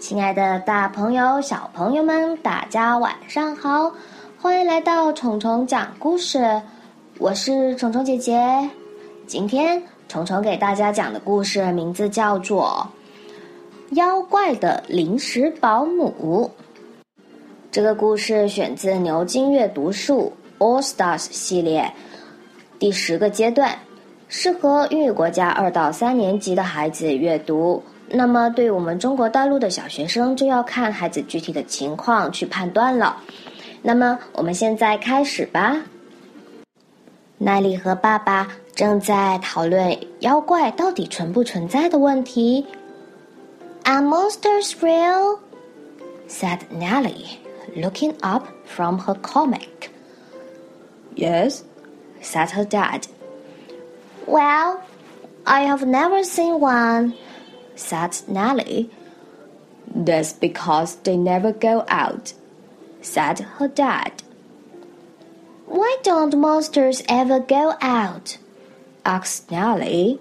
亲爱的大朋友、小朋友们，大家晚上好！欢迎来到虫虫讲故事，我是虫虫姐姐。今天虫虫给大家讲的故事名字叫做《妖怪的临时保姆》。这个故事选自牛津阅读树 All Stars 系列第10个阶段，适合英语国家2到3年级的孩子阅读。那么对我们中国大陆的小学生就要看孩子具体的情况去判断了。那么我们现在开始吧。奈利和爸爸正在讨论妖怪到底存不存在的问题。Are monsters real? Said Nellie, looking up from her comic. Yes, said her dad. Well, I have never seen one,said Nellie. That's because they never go out, said her dad. Why don't monsters ever go out? Asked Nellie.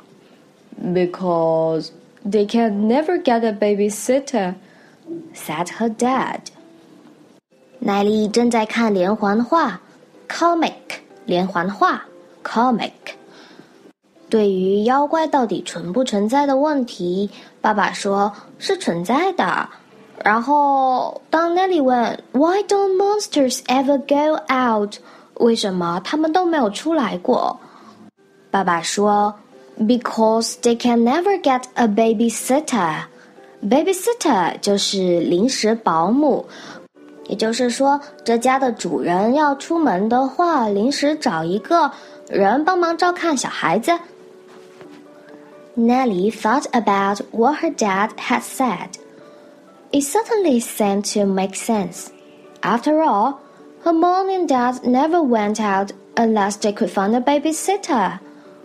Because they can never get a babysitter, said her dad. 奈利正在看连环画 comic 连环画 comic。对于妖怪到底存不存在的问题，爸爸说是存在的。然后当 Nellie 问 Why don't monsters ever go out? 为什么他们都没有出来过？爸爸说 Because they can never get a babysitter. Babysitter 就是临时保姆，也就是说这家的主人要出门的话，临时找一个人帮忙照看小孩子。Nellie thought about what her dad had said. It certainly seemed to make sense. After all, her mom and dad never went out unless they could find a babysitter.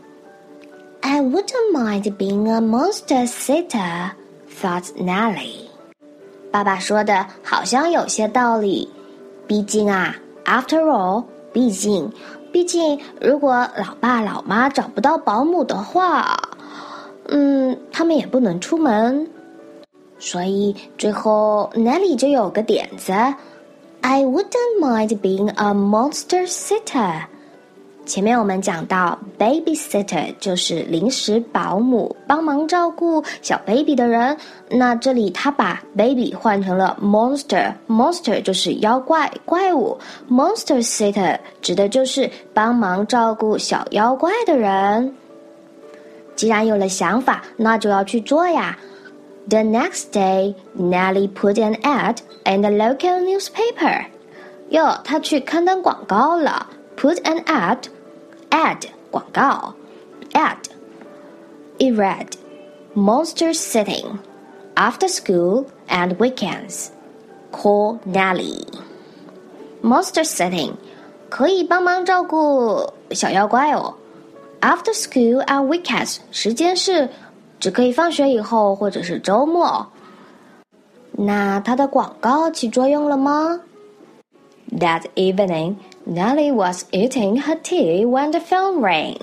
I wouldn't mind being a monster sitter, thought Nellie. 爸爸说的好像有些道理。毕竟啊 ，after all， 毕竟，如果老爸老妈找不到保姆的话，他们也不能出门。所以最后 Nellie 就有个点子 I wouldn't mind being a monster sitter。 前面我们讲到 babysitter 就是临时保姆，帮忙照顾小 baby 的人。那这里他把 baby 换成了 monster 就是妖怪怪物， monster sitter 指的就是帮忙照顾小妖怪的人。既然有了想法，那就要去做呀。The next day, Nellie put an ad in the local newspaper. 她去刊登广告了。Put an ad 广告 ad. It read, Monster sitting, after school and weekends. Call Nellie. Monster sitting 可以帮忙照顾小妖怪哦。After school and weekends 时间是只可以放学以后或者是周末。那它的广告起作用了吗？ That evening, Nellie was eating her tea when the phone rang.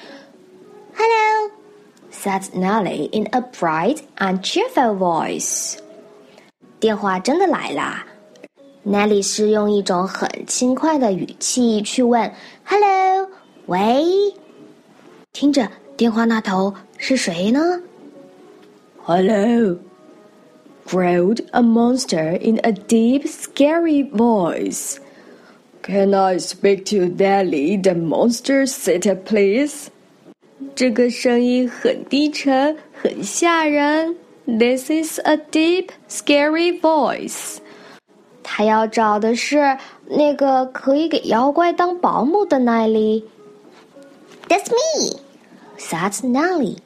Hello, said Nellie in a bright and cheerful voice. 电话真的来啦。Nellie 是用一种很轻快的语气去问 Hello, 喂？听着电话那头是谁呢？ Hello, growled a monster in a deep, scary voice. Can I speak to Nellie, the monster sitter, please? 这个声音很低沉，很吓人。This is a deep, scary voice. 他要找的是那个可以给妖怪当保姆的奈利。That's me, said Nellie.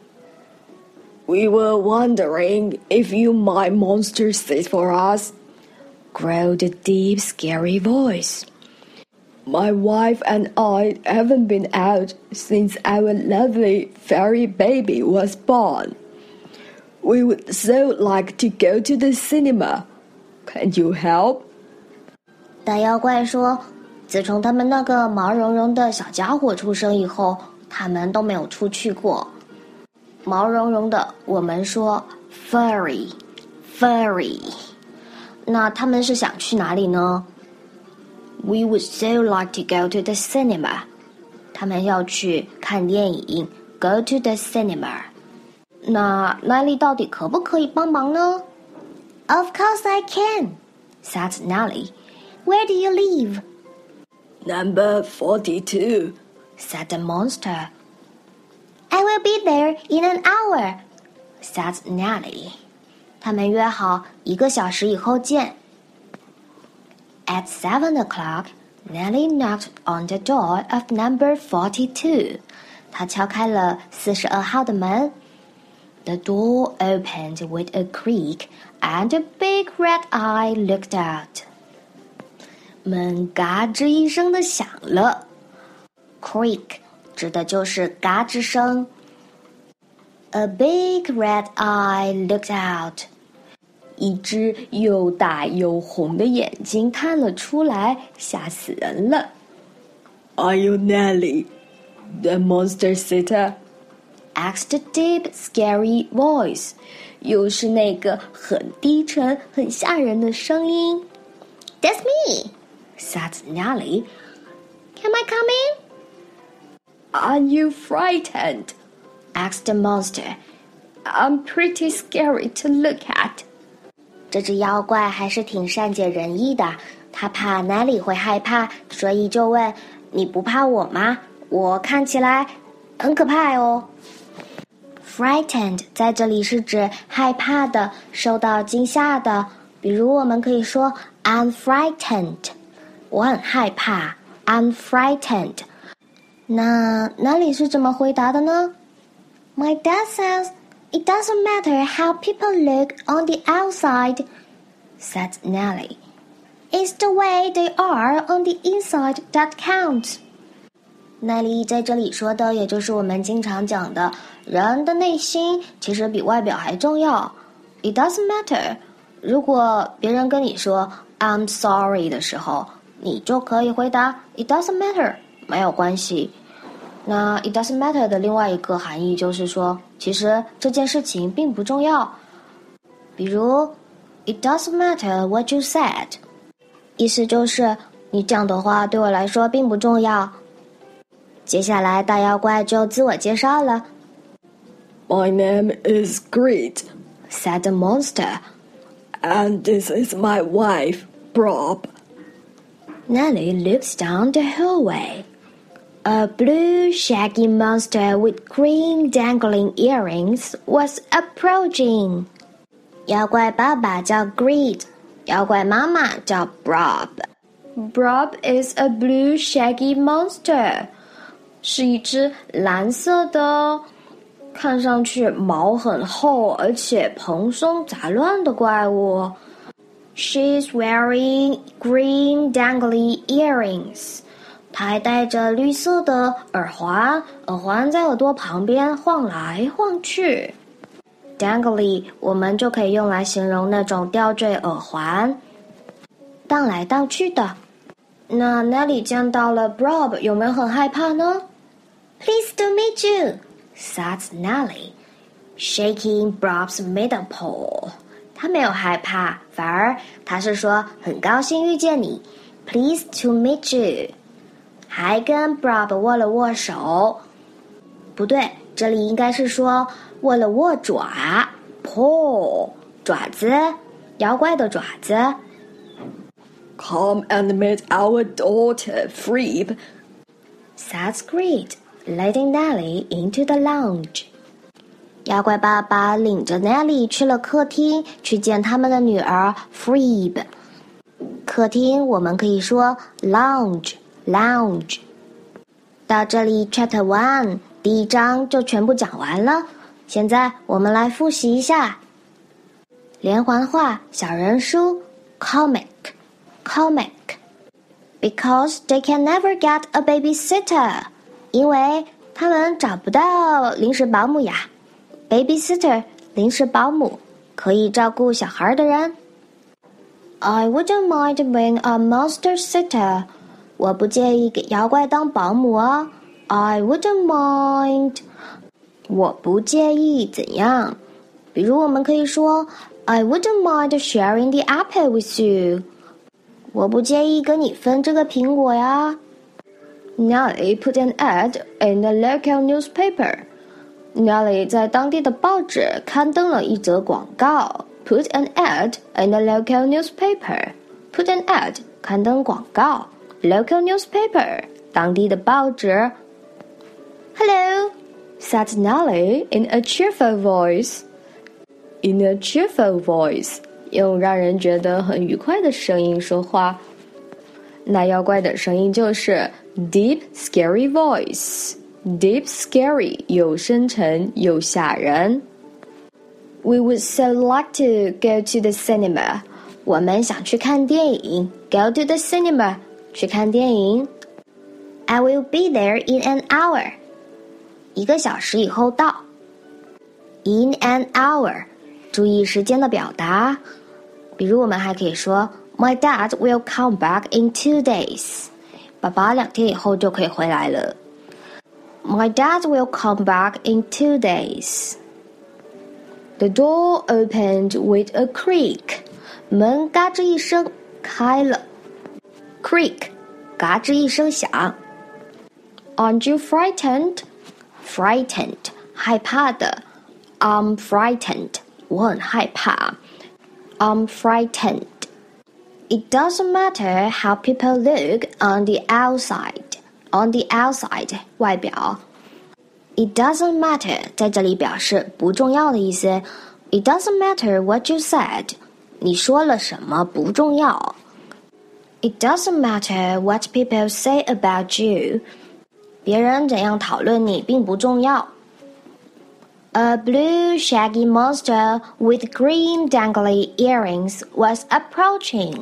We were wondering if you might monster sit for us, growled a deep, scary voice. My wife and I haven't been out since our lovely fairy baby was born. We would so like to go to the cinema. Can you help? 大妖怪说，自从他们那个毛茸茸的小家伙出生以后，他们都没有出去过。毛茸茸的，我们说 furry Very。那他们是想去哪里呢？ We would so like to go to the cinema。 他们要去看电影 Go to the cinema。 那奈利到底可不可以帮忙呢？ Of course I can， said Nelly. Where do you live? Number 42, said the monster. I will be there in an hour, said Nelly. 他们约好1个小时以后见。At 7 o'clock, Nelly knocked on the door of number 42. 她敲开了42号的门。The door opened with a creak, and a big red eye looked out. 门嘎吱一声的响了。Creak 指的就是嘎吱声。A big red eye looked out. 一只又大又红的眼睛探了出来，吓死人了。 Are you Nelly, the monster sitter? Asked a deep, scary voice. 又是那个很低沉、很吓人的声音。That's me, said Nelly. Can I come in? Are you frightened? Asked the monster. I'm pretty scary to look at. 这只妖怪还是挺善解人意的，他怕Nelly会害怕，所以就问：你不怕我吗？我看起来很可怕哦。Frightened 在这里是指害怕的、受到惊吓的，比如我们可以说 I'm frightened， 我很害怕 I'm frightened。那Nelly是怎么回答的呢？ My dad says it doesn't matter how people look on the outside, said Nelly. It's the way they are on the inside that counts. 奈利在这里说的也就是我们经常讲的，人的内心其实比外表还重要。It doesn't matter. 如果别人跟你说 I'm sorry 的时候，你就可以回答 It doesn't matter， 没有关系。那 It doesn't matter 的另外一个含义就是说，其实这件事情并不重要。比如 It doesn't matter what you said， 意思就是你讲的话对我来说并不重要。接下来大妖怪就自我介绍了。 My name is Greed, said the monster. And this is my wife, Brob. Nelly looked down the hallway. A blue shaggy monster with green dangling earrings was approaching. 妖怪爸爸叫 Greed, 妖怪妈妈叫 Brob. Brob is a blue shaggy monster. 是一只蓝色的，看上去毛很厚，而且蓬松杂乱的怪物。She's wearing green dangly earrings. 她还戴着绿色的耳环，耳环在耳朵旁边晃来晃去。Dangly 我们就可以用来形容那种吊坠耳环，荡来荡去的。那 Nelly 见到了 Brob 有没有很害怕呢？Pleased to meet you, said Nelly, shaking Brob's middle paw. 他没有害怕，反而他是说很高兴遇见你 ，Pleased to meet you， 还跟 Brob 握了握手。不对，这里应该是说握了握爪 ，paw 爪子，妖怪的爪子。 Come and meet our daughter, Phoebe, said Greed.Leading Nelly into the lounge. 妖怪爸爸领着 Nelly 去了客厅，去见他们的女儿 Phoebe。客厅我们可以说 lounge。到这里 Chapter 1第1章就全部讲完了。现在我们来复习一下。连环画小人书 comic Because they can never get a babysitter.因为他们找不到临时保姆呀 ，babysitter 临时保姆可以照顾小孩的人。I wouldn't mind being a monster sitter. 我不介意给妖怪当保姆啊。I wouldn't mind. 我不介意怎样比如我们可以说 I wouldn't mind sharing the apple with you. 我不介意跟你分这个苹果呀。 Nellie put an ad in the local newspaper. Nellie 在当地的报纸刊登了一则广告。Put an ad in the local newspaper. Put an ad 刊登广告。Local newspaper 当地的报纸。Hello, said Nellie in a cheerful voice. In a cheerful voice 用让人觉得很愉快的声音说话。那妖怪的声音就是 deep scary voice. Deep scary 又深沉又吓人。We would so like to go to the cinema. 我们想去看电影。Go to the cinema 去看电影。 I will be there in an hour. 1个小时以后到。In an hour 注意时间的表达。比如我们还可以说 My dad will come back in 2 days. 爸爸2天以后就可以回来了。 My dad will come back in 2 days. The door opened with a creak. 门嘎吱一声开了。Creak 嘎吱一声响。 Aren't you frightened? Frightened 害怕的。I'm frightened 我很害怕。I'm frightened. It doesn't matter how people look on the outside. On the outside 外表。It doesn't matter 在这里表示不重要的意思。It doesn't matter what you said. 你说了什么不重要。It doesn't matter what people say about you. 别人怎样讨论你并不重要。A blue shaggy monster with green dangly earrings was approaching.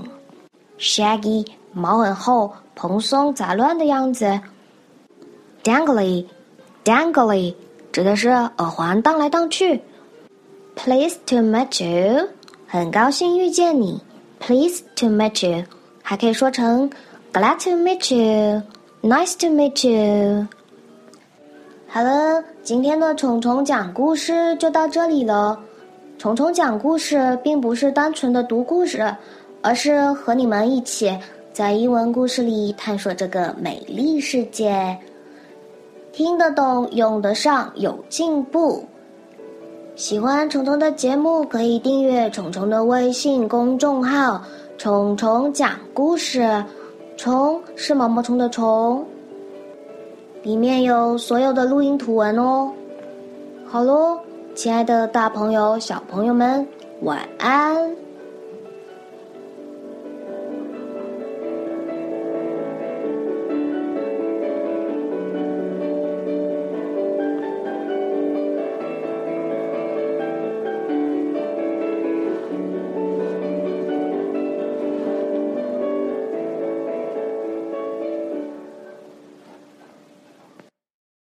Shaggy 毛很厚，蓬松杂乱的样子。Dangly 指的是耳环荡来荡去。Pleased to meet you 很高兴遇见你。Pleased to meet you 还可以说成 Glad to meet you, Nice to meet you. 好了，今天的虫虫讲故事就到这里了。虫虫讲故事并不是单纯的读故事，而是和你们一起在英文故事里探索这个美丽世界。听得懂，用得上，有进步。喜欢虫虫的节目，可以订阅虫虫的微信公众号“虫虫讲故事”。虫是毛毛虫的虫，里面有所有的录音图文哦。好咯，亲爱的大朋友、小朋友们，晚安。